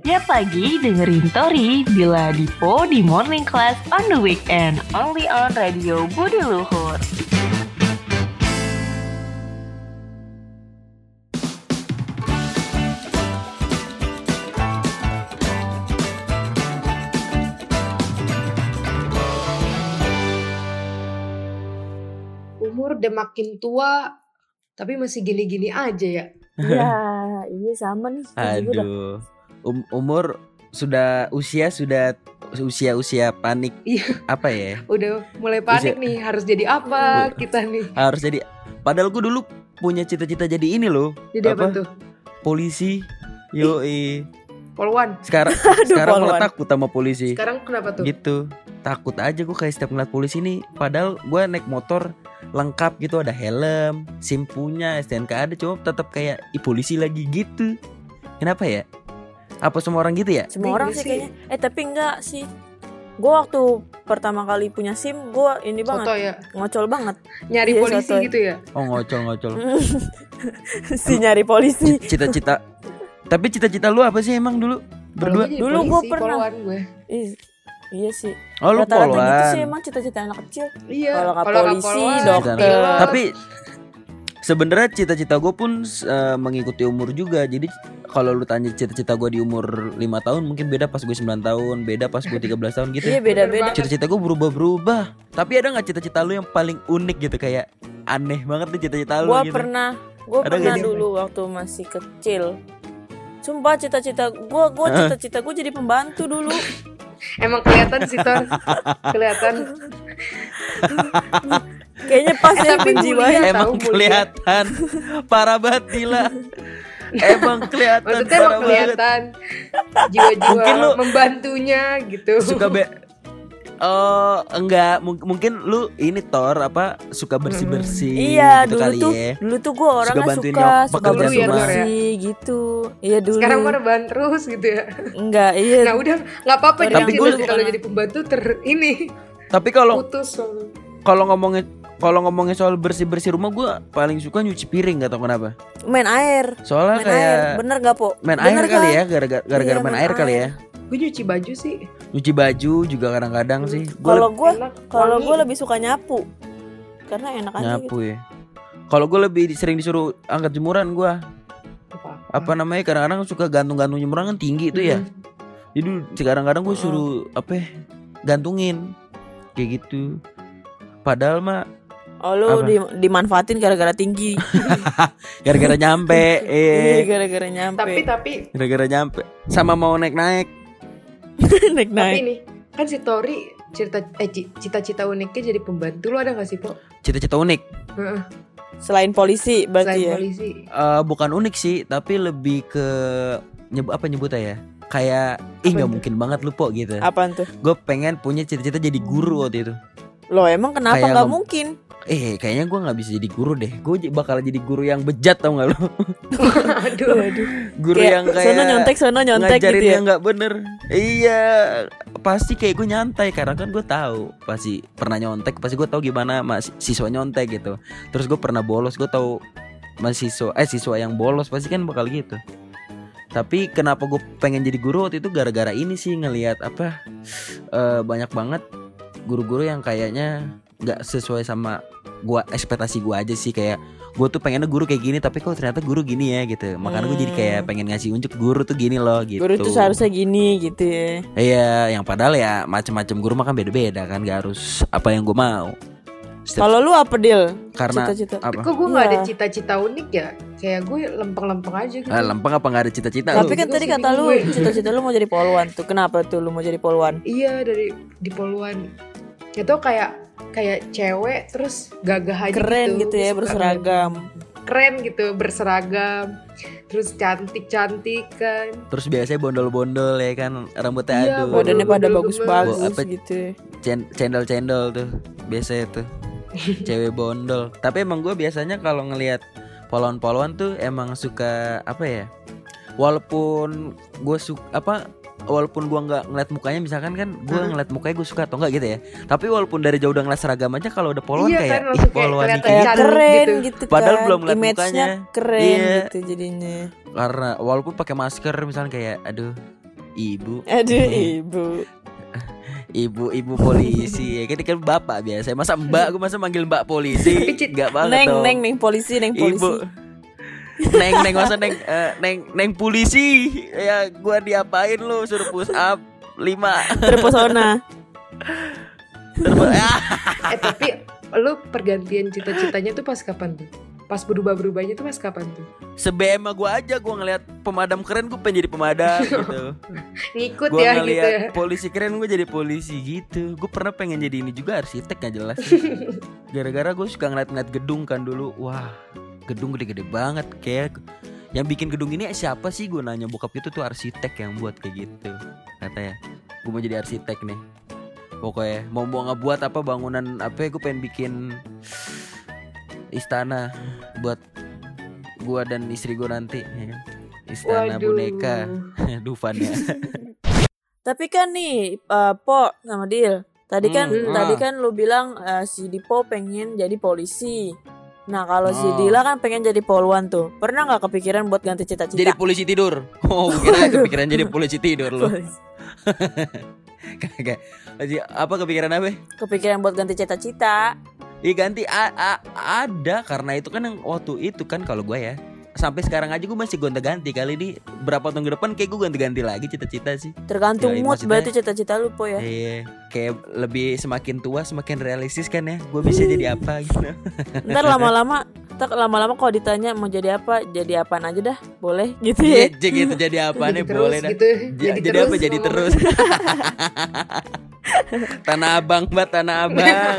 Tiap pagi dengerin Tori Bila Dipo di Morning Class on the Weekend. Only on Radio Budi Luhur. Umur udah makin tua, tapi masih gini-gini aja ya. Iya, iya sama nih. Aduh, umur sudah usia panik. Iya. Apa ya? Udah mulai panik nih, harus jadi apa kita nih? Harus jadi. Padahal gue dulu punya cita-cita jadi ini loh. Jadi apa tuh? Polisi. Yoi. Polwan. Sekarang malah takut sama polisi. Sekarang kenapa tuh? Gitu. Takut aja gue kayak setiap ngeliat polisi nih. Padahal gue naik motor lengkap gitu, ada helm, SIM punya, STNK ada, cuma tetap kayak polisi lagi gitu. Kenapa ya? Apa semua orang gitu ya? Semua orang sih kayaknya. Tapi enggak sih. Gue waktu pertama kali punya SIM, gue ini banget. Soto ya? Ngocol banget. Nyari Iya, polisi soto. gitu ya? Oh, ngocol. Si nyari polisi. Cita-cita. Tapi cita-cita lu apa sih emang dulu? Berdua? Dulu gue pernah. Polwan gue. Iya sih. Oh, lu Rata-rata polwan. gitu sih emang cita-cita anak kecil. Iya. Kalau nggak nggak polisi, polwan, dokter. pilot. Tapi sebenarnya cita-cita gue pun mengikuti umur juga. Jadi kalau lu tanya cita-cita gue di umur 5 tahun mungkin beda pas gue 9 tahun, beda pas gue 13 tahun gitu. Iya beda-beda. Cita-cita gue berubah-berubah. Tapi ada gak cita-cita lu yang paling unik gitu, kayak aneh banget nih cita-cita lu gitu? Gue Ada pernah gak sih? dulu waktu masih kecil. Sumpah cita-cita gue jadi pembantu dulu. Emang kelihatan sih Tor. Kelihatan. Kayaknya pas ya Tapi penjiwanya. mulia. Emang tahu, kelihatan parah banget gila. Emang kelihatan Maksudnya parah emang banget. kelihatan jiwa-jiwa Mungkin lu membantunya gitu. Suka Oh enggak, mungkin lu ini Tor apa suka bersih-bersih Iya gitu dulu kali tuh, ya. dulu tuh gue orangnya bantuin suka pekerjaan rumah. bersih gitu. Iya dulu. Sekarang mah rebahan terus gitu ya. Enggak, iya. Nah udah nggak apa-apa. Tapi Tapi gue- kalau jadi pembantu ini Tapi kalau putus. ngomongin soal bersih-bersih rumah, gue paling suka nyuci piring, gak tau kenapa. Main air. Soalnya Main kayak air. Bener gak Po? main Bener air kali kan? ya, gara-gara Iya, main air kali ya. Gue nyuci baju sih. Nyuci baju juga kadang-kadang sih. Kalau enak, gue wangi. lebih suka nyapu. Karena enak aja nyapu gitu. ya. Kalau gue lebih sering disuruh angkat jemuran gue. Apa namanya, kadang-kadang suka gantung-gantung jemuran kan tinggi tuh ya. Jadi kadang-kadang gue suruh gantungin kayak gitu. Padahal mah Oh lu dimanfaatin gara-gara tinggi. gara-gara nyampe. Iya gara-gara nyampe. Tapi Gara-gara nyampe. Sama mau naik-naik. tapi naik. nih kan si Tori cita-cita uniknya jadi pembantu. Lu ada nggak sih Po? Cita-cita unik. Heeh. Selain polisi berarti Selain ya. polisi. Bukan unik sih, tapi lebih ke nyebutnya ya? Kayak nggak mungkin banget lu Po gitu. Apaan tuh? Gue pengen punya cita-cita jadi guru waktu itu. Loh emang kenapa Kayak nggak mungkin? Kayaknya gue nggak bisa jadi guru deh. Gue bakal jadi guru yang bejat, tau nggak lu? Aduh. Guru yang kayak sono nyontek ngajarin gitu ya. yang nggak bener. Iya, pasti kayak gue nyantai karena kan gue tahu pasti pernah nyontek. Pasti gue tahu gimana siswa nyontek gitu. Terus gue pernah bolos, gue tahu siswa yang bolos pasti kan bakal gitu. Tapi kenapa gue pengen jadi guru waktu itu gara-gara ini sih, ngelihat banyak banget guru-guru yang kayaknya nggak sesuai sama gua, ekspektasi gua aja sih. Kayak gue tuh pengennya guru kayak gini, tapi kok ternyata guru gini ya gitu. Makanya gue jadi kayak pengen ngasih unjuk guru tuh gini loh gitu. Guru tuh seharusnya gini gitu ya. Iya, yang padahal ya macam-macam guru mah kan beda-beda kan, gak harus apa yang gue mau. Kalau lu apa Dil? Karena Cita-cita. apa? Kok gue nggak Iya. ada cita-cita unik ya? Kayak gue lempeng-lempeng aja gitu. Lempeng apa nggak ada cita-cita? Tapi lu? kan Gitu tadi sih kata lu bingung gue. cita-cita lu mau jadi polwan tuh. Kenapa tuh lu mau jadi polwan? Iya di Poluan. Itu kayak cewek terus gagah aja Keren gitu ya, Suka berseragam. Keren gitu, berseragam. Terus cantik-cantik kan. Terus biasanya bondol-bondol ya kan, rambutnya Iya, aduh. Badannya pada Bener-bener bagus-bagus apa- gitu ya. Cendol-cendol tuh biasanya tuh. Cewek bondol. Tapi emang gue biasanya kalau ngelihat polwan-polwan tuh emang suka apa ya? Walaupun gue walaupun gue nggak ngeliat mukanya, misalkan kan gue ngeliat mukanya gue suka atau enggak gitu ya. Tapi walaupun dari jauh udah ngeliat seragam aja, kalau udah polwan Iya kayak kan, langsung kayak polwan kelihatan dikit. Kayak cantik keren gitu. gitu kan. Padahal belum ngeliat Image-nya mukanya. keren Iya. gitu jadinya. Karena walaupun pakai masker misalnya kayak aduh Ibu. Aduh, ibu. Ibu polisi ya kan bapak biasa. Masa mbak, gue masa manggil mbak polisi. Enggak banget dong. Neng polisi. Ibu. Neng masa neng polisi. Ya gua diapain lu, suruh push up 5. Terpesona. Tapi lu pergantian cita-citanya tuh pas kapan tuh? Pas berubah-berubahnya tuh pas kapan tuh? Se-BM gua aja, gua ngeliat pemadam keren gue pengen jadi pemadam gitu. Ngikut Gua ya ngeliat gitu ya. polisi keren gue jadi polisi gitu. Gue pernah pengen jadi ini juga, arsitek gak jelas. Gara-gara gue suka ngeliat gedung kan dulu. Wah, gedung gede-gede banget. Kayak yang bikin gedung ini siapa sih, gue nanya bokap itu tuh arsitek yang buat kayak gitu. Katanya gue mau jadi arsitek nih. Pokoknya mau ngebuat apa, bangunan apa ya, gue pengen bikin istana buat gua dan istri gua nanti ya. Istana Waduh. boneka. Dufan ya. Tapi kan nih Po sama Dil, tadi kan lu bilang si Dipo pengen jadi polisi. Nah kalau si Dila kan pengen jadi poluan tuh. Pernah gak kepikiran buat ganti cita-cita? Jadi polisi tidur. Oh kira kepikiran jadi polisi tidur loh. Kagak. Apa kepikiran apa? Kepikiran buat ganti cita-cita. Iya ganti ada, karena itu kan yang waktu itu kan kalau gue ya sampai sekarang aja gue masih gonta-ganti. Kali ini berapa tahun ke depan kayak gue ganti-ganti lagi cita-cita sih. Tergantung Ya, mood maksudnya- berarti cita-cita lu Po ya. Iya, kayak lebih semakin tua semakin realistis kan ya. Gue bisa jadi apa gitu. Ntar lama-lama kalau ditanya mau jadi apaan aja dah, boleh gitu Iya, ya. gitu jadi apa nih Jadi terus boleh dah. gitu. Jadi terus apa? Jadi ngomong. terus. Tanah Abang, Mbak, Tanah Abang.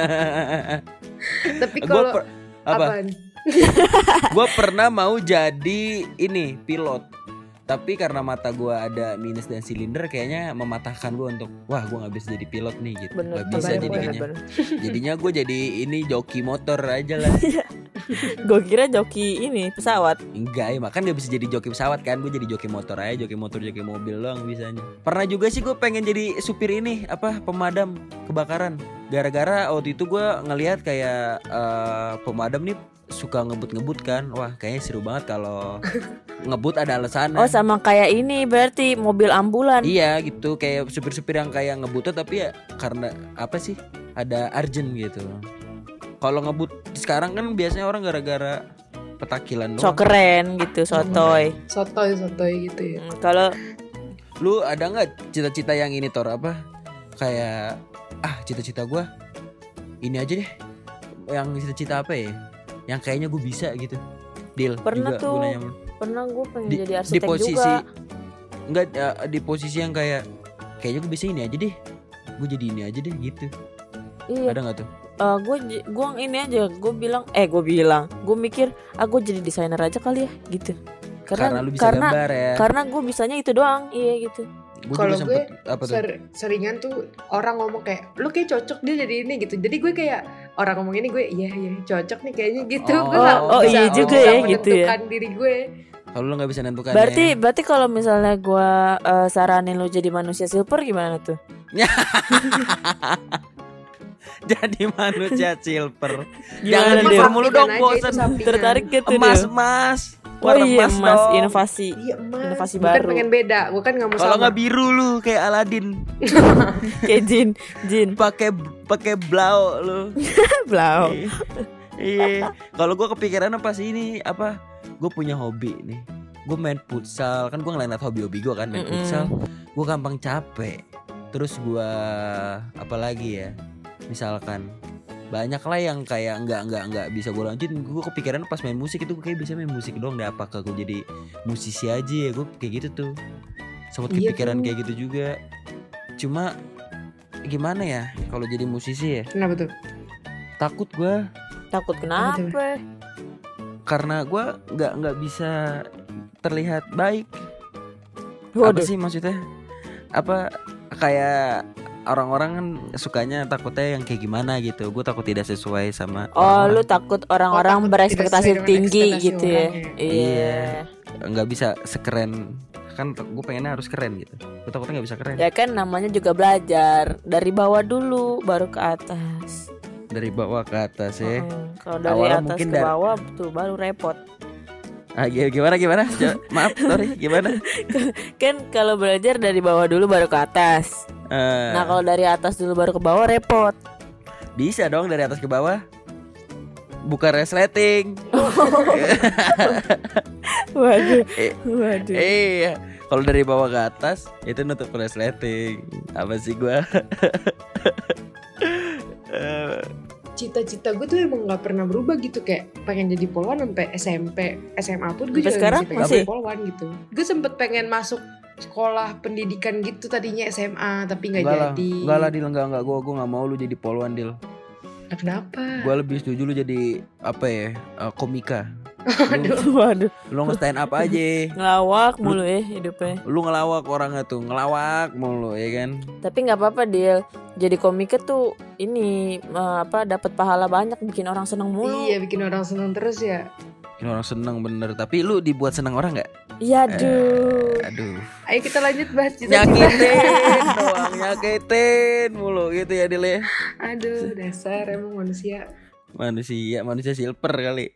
Tapi Gua kalau apa? apaan? Gue pernah mau jadi ini pilot, tapi karena mata gue ada minus dan silinder, kayaknya mematahkan gue untuk wah gue nggak bisa jadi pilot nih gitu. Bener, Gak bisa bener, jadinya. bener. Jadinya gue jadi ini joki motor aja lah. Gue kira joki ini pesawat. Enggak ya, makan gak bisa jadi joki pesawat kan. Gue jadi joki motor aja, joki motor, joki mobil doang bisanya. Pernah juga sih gue pengen jadi supir ini apa, pemadam kebakaran. Gara-gara waktu itu gue ngelihat kayak pemadam nih suka ngebut-ngebut kan. Wah kayaknya seru banget kalau ngebut ada alasannya. Oh sama kayak ini berarti mobil ambulan. Iya gitu, kayak supir-supir yang kayak ngebut tapi ya karena apa sih, ada urgent gitu. Kalau ngebut sekarang kan biasanya orang gara-gara petakilan So doang. keren gitu, sotoy. Sotoy gitu ya. Kalau Lu ada nggak cita-cita yang ini Tor, apa kayak cita-cita gue ini aja deh, yang cita-cita apa ya yang kayaknya gue bisa gitu. Deal Pernah juga tuh. gua nanya. pernah gue pengen jadi di arsitek posisi juga. enggak di posisi yang kayaknya gue bisa ini aja deh, gue jadi ini aja deh gitu. Iya. Ada nggak tuh? Gue ini aja, gue mikir gue jadi desainer aja kali ya gitu. Karena lu bisa gambar ya. Karena gue bisanya itu doang, iya gitu. Gue Kalau juga gue sempet apa tuh? seringan tuh orang ngomong kayak lu kayak cocok dia jadi ini gitu. Jadi gue kayak orang ngomong ini gue iya cocok nih kayaknya gitu. Oh, Gue nggak oh, bisa, iya juga bisa ya, gitu ya. menentukan diri gue. Kalau lu nggak bisa nentukan. Berarti kalau misalnya gue saranin lu jadi manusia silver gimana tuh? Jadi manusia silver. Gimana, Jangan Del? silver mulu dong, Sampingan aja, bosan. itu sampingan. Tertarik gitu Emas, Del? emas. Oh Warna iya emas mas, dong. inovasi. Iya emas. Inovasi Bukan baru. pengen beda, bukan nggak mau Kalau sama. nggak biru lu kayak Aladin. Kayak jin Pakai blau lu. blau. Iya. Kalau gue kepikiran pas ini apa? Gue punya hobi nih. Gue main futsal. Kan gue ngeliat hobi-hobi gue kan main futsal. Gue gampang capek. Terus gue apa lagi ya? Misalkan banyak lah yang kayak nggak bisa gue lanjutin. Gue kepikiran pas main musik itu gue kayak bisa main musik doang deh. Apakah gue jadi musisi aja ya? Gue kayak gitu tuh. Sempat Iya kepikiran tuh. kayak gitu juga. Cuma gimana ya kalau jadi musisi ya? Kenapa tuh? Takut gue. Takut kenapa? Karena gue nggak bisa terlihat baik. Waduh. Apa sih maksudnya? Apa kayak orang-orang kan sukanya takutnya yang kayak gimana gitu. Gue takut tidak sesuai sama Oh, orang-orang. lu takut orang-orang takut berekspektasi tidak sesuai dengan tinggi ekspektasi gitu ya? orang ya. Iya. Nggak bisa sekeren. Kan gue pengennya harus keren gitu. Gue takutnya nggak bisa keren. Ya kan namanya juga belajar dari bawah dulu baru ke atas. Dari bawah ke atas ya. Kalau dari Awalnya atas mungkin ke dari- bawah tuh baru repot. Gimana? Maaf, sorry, gimana? Kan kalau belajar dari bawah dulu baru ke atas. Nah kalau dari atas dulu baru ke bawah repot. Bisa dong dari atas ke bawah. Bukan resleting. Waduh. Iya. Kalau dari bawah ke atas itu nutup resleting. Apa sih gua? Cita-cita gue tuh emang nggak pernah berubah gitu, kayak pengen jadi polwan sampai SMP, SMA pun gue Sampai juga sekarang pengen masih? jadi polwan gitu. Gue sempet pengen masuk sekolah pendidikan gitu tadinya SMA tapi nggak jadi. Enggak lah, Dil, enggak. Gua nggak mau lu jadi polwan, Dil. Nah, kenapa? Gua lebih setuju lu jadi apa ya? Komika. Waduh. Lu nge-stand up aja. Ngelawak mulu hidupnya. Lu ngelawak orangnya tuh, ngelawak mulu ya kan. Tapi nggak apa-apa Dil. Jadi komika tuh ini dapat pahala banyak, bikin orang seneng mulu. Iya, bikin orang seneng terus ya. Bikin orang seneng bener. Tapi lu dibuat seneng orang nggak? Iya aduh. Aduh. Ayo kita lanjut bahas cita-cita. Nyakitin mulu gitu ya, Dil ya. Aduh, dasar emang manusia. Manusia silver kali.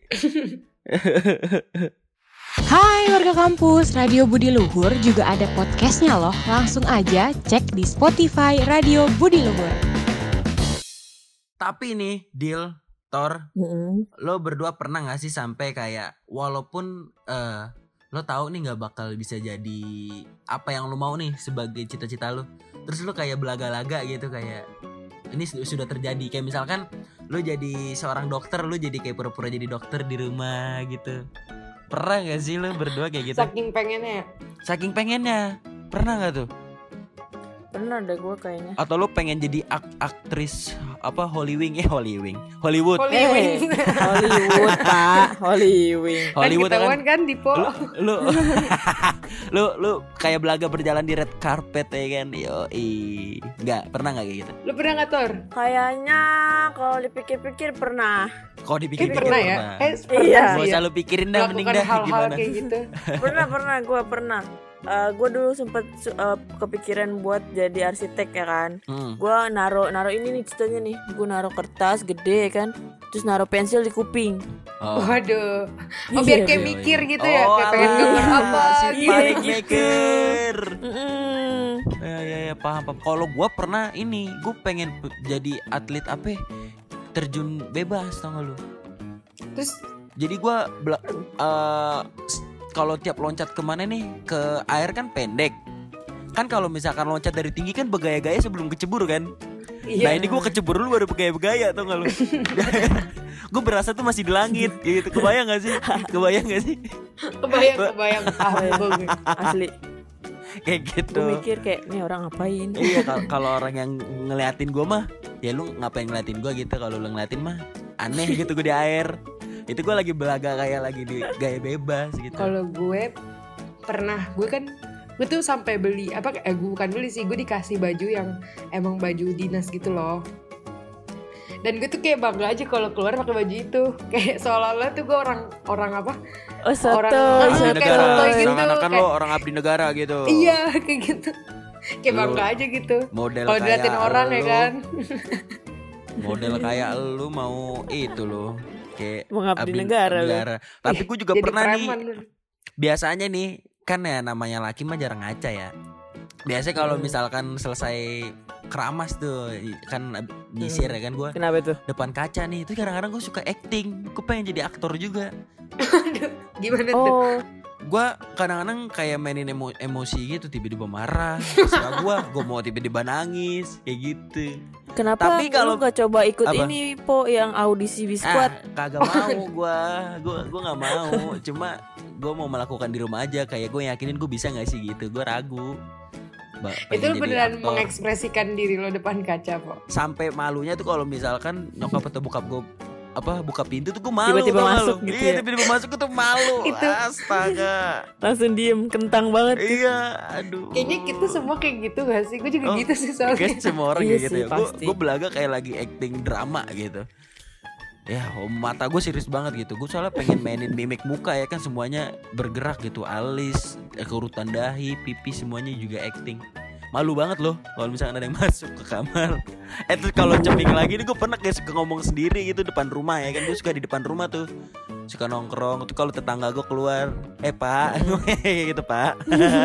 Hai warga kampus, Radio Budi Luhur juga ada podcastnya loh. Langsung aja cek di Spotify Radio Budi Luhur. Tapi nih, Dil, Thor, lo berdua pernah gak sih sampai kayak walaupun lo tahu nih nggak bakal bisa jadi apa yang lo mau nih sebagai cita-cita lo, terus lo kayak belaga-laga gitu, kayak ini sudah terjadi, kayak misalkan lo jadi seorang dokter, lo jadi kayak pura-pura jadi dokter di rumah gitu. Pernah gak sih lo berdua kayak gitu? Saking pengennya. Pernah gak tuh? Pernah deh gue kayaknya. Atau lo pengen jadi aktris apa Hollywood Hollywood Pak, Hollywood ketahuan kan Dipo. Lu kayak belaga berjalan di red carpet ya kan. Yoi. Enggak, pernah enggak kayak gitu? Lu pernah enggak, Tor? Kayaknya kalau dipikir-pikir pernah. Kok dipikir-pikir pernah ya? Iya. Gak usah lu pikirin dah, mending dah hal-hal gimana. kayak gitu. Pernah. Gue dulu sempet kepikiran buat jadi arsitek ya kan. Gue naro ini nih ceritanya nih. Gue naro kertas gede kan, terus naro pensil di kuping. Waduh. Biar kayak mikir gitu ya, kayak pengen gambar apa gitu. Maker. Ya, paham. Kalau gue pernah gue pengen jadi atlet apa? Terjun bebas, tau gak lu? Terus jadi gue kalau tiap loncat kemana nih, ke air kan pendek. Kan kalau misalkan loncat dari tinggi kan bergaya-gaya sebelum kecebur kan. Iya. Nah ini gue kecebur dulu baru bergaya-gaya, tau gak lu? Gue berasa tuh masih di langit gitu. Kebayang gak sih? Kebayang Kebayang. Asli. Kayak gitu. Gue mikir kayak nih orang ngapain. Iya, kalau orang yang ngeliatin gue mah, ya lu ngapain ngeliatin gue gitu. Kalau lu ngeliatin mah aneh gitu gue di air. Itu gue lagi belaga kayak lagi di gaya bebas gitu. Kalau gue pernah, gue tuh sampai beli gue bukan beli sih, gue dikasih baju yang emang baju dinas gitu loh. Dan gue tuh kayak bangga aja kalau keluar pakai baju itu, kayak seolah-olah tuh gue orang apa? Orang abdi negara, gitu, kan lo orang abdi negara gitu. Iya kayak gitu, kayak bangga aja gitu. Model kalau diliatin orang lu, ya kan. Model kayak lu mau itu lo. Kayak mengabdi negara. Tapi gue juga pernah preman. nih. Biasanya nih kan ya namanya laki mah jarang ngaca ya. Biasanya kalau misalkan selesai keramas tuh kan nyisir ya kan gue. Kenapa tuh? Depan kaca nih itu kadang-kadang gue suka acting. Gue pengen jadi aktor juga. Gimana tuh? Gue kadang-kadang kayak mainin emosi gitu, tiba-tiba marah. Terserah gue mau tiba-tiba nangis kayak gitu. Kenapa tapi kalau lu gak coba ikut apa? ini Po yang audisi biskuat? Kagak mau gue gak mau. Cuma gue mau melakukan di rumah aja. Kayak gue yakinin gue bisa gak sih gitu. Gue ragu. Itu beneran mengekspresikan diri lo depan kaca Po? Sampai malunya tuh kalau misalkan nyokap atau bokap gue buka pintu tuh gue malu. Tiba-tiba masuk gitu ya? Tiba-tiba masuk tuh malu. Astaga. Langsung diem, kentang banget. Iya, aduh. Kayaknya kita semua kayak gitu gak sih? Gue juga gitu sih soalnya. Kayak semua orang Iya kayak gitu sih, ya. Gue belaga kayak lagi acting drama gitu. Ya mata gue serius banget gitu. Gue soalnya pengen mainin mimik muka ya kan, semuanya bergerak gitu. Alis, keurutan dahi, pipi semuanya juga acting. Malu banget loh kalau misalkan ada yang masuk ke kamar. Terus kalau ceming lagi nih, gue pernah kayak suka ngomong sendiri gitu depan rumah ya kan. Gue suka di depan rumah tuh suka nongkrong. Tuh kalau tetangga gue keluar, Pak, gitu Pak.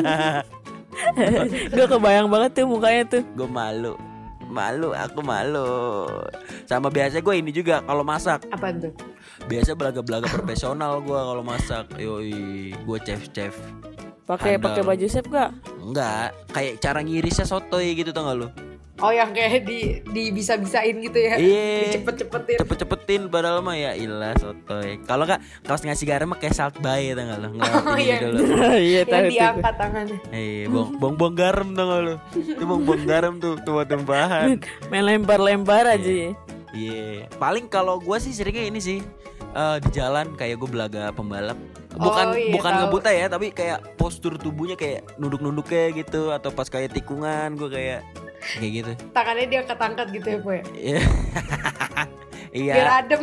Gue kebayang banget tuh mukanya tuh. Gue malu, aku malu. Sama biasa gue ini juga kalau masak. Apaan tuh? Biasa belaga-belaga profesional gue kalau masak. Yoi, gue chef. Pakai Handal. baju chef gak? Enggak, kayak cara ngirisnya sotoy gitu tau gak lu? Oh yang kayak di bisa-bisain gitu ya. Iya. Dicepet-cepetin. Cepet-cepetin padahal mah ya ilah sotoy. Kalau enggak kalau ngasih garam mah kayak salt bay tau gak lu? Oh, iya. Dulu. Iya tahu Yang tuh. diangkat tangannya. Bong garam tau gak lu? Itu bong garam tuh tumpahan. Main lempar-lempar aja ya. Iya. Paling kalau gue sih seringnya ini sih di jalan kayak gue belaga pembalap. Bukan tahu. ngebut ya, tapi kayak postur tubuhnya kayak nunduk-nunduknya gitu atau pas kayak tikungan gue kayak gitu. Tangannya dia angkat-angkat gitu ya, Po ya. Iya. Iya. Biar adem.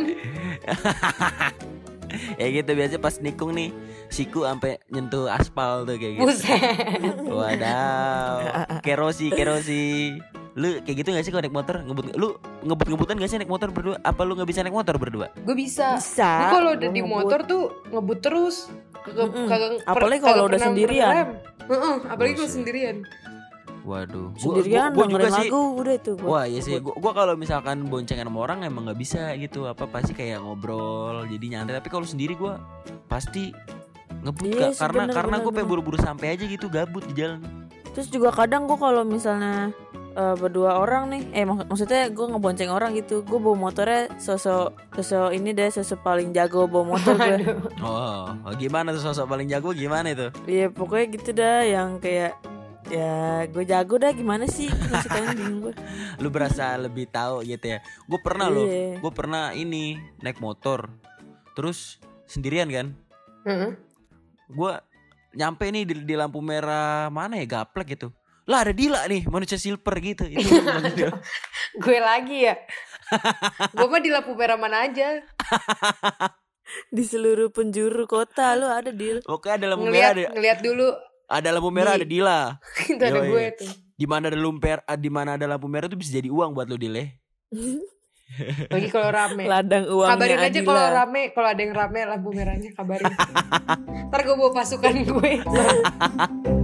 Ya gitu biasa pas nikung nih siku sampai nyentuh aspal tuh kayak gitu. Buset. Wadaw. Kerosi. Lu kayak gitu gak sih kalau naik motor? Lu ngebut-ngebutan gak sih naik motor berdua? Apa lu gak bisa naik motor berdua? Gue bisa. Bisa. Gue kalau udah Gua di ngebut. motor tuh ngebut terus. Apalagi kalau udah sendirian. Apalagi kalau Buset. sendirian. Waduh. Sendirian Gua dengerin juga sih. lagu udah itu. Wah iya sih. Gua kalau misalkan boncengan sama orang emang nggak bisa gitu. Apa pasti kayak ngobrol jadi nyantai. Tapi kalau sendiri gua pasti ngebut Iya Kak. sih, Karena bener. gue pengen buru-buru sampai aja gitu gabut di jalan. Terus juga kadang gue kalau misalnya berdua orang nih, maksudnya gue ngebonceng orang gitu, gue bawa motornya sosok ini deh, sosok paling jago bawa motor gue. Oh, gimana tuh sosok paling jago gimana itu? Iya pokoknya gitu dah, yang kayak ya gue jago dah gimana sih, masih kalian bingung gue. Lu berasa lebih tahu gitu ya. Gue pernah loh, Iya. gue pernah ini naik motor, terus sendirian kan. Gue nyampe nih di lampu merah mana ya Gaplek gitu. Lah ada Dila nih manusia silver gitu. Itu Gue lagi ya. Gue mah di lampu merah mana aja. Di seluruh penjuru kota lu ada deal. Oke ada lampu merah Ngeliat dulu. ada lampu merah ada Dila. Itu ada Yoi. gue tuh. Di mana ada lampu merah tuh bisa jadi uang buat lu Dile. Lagi kalau rame. Ladang uangnya Kabarin aja Adila. kalau rame, kalau ada yang rame lampu merahnya kabarin. Ntar gue bawa pasukan gue.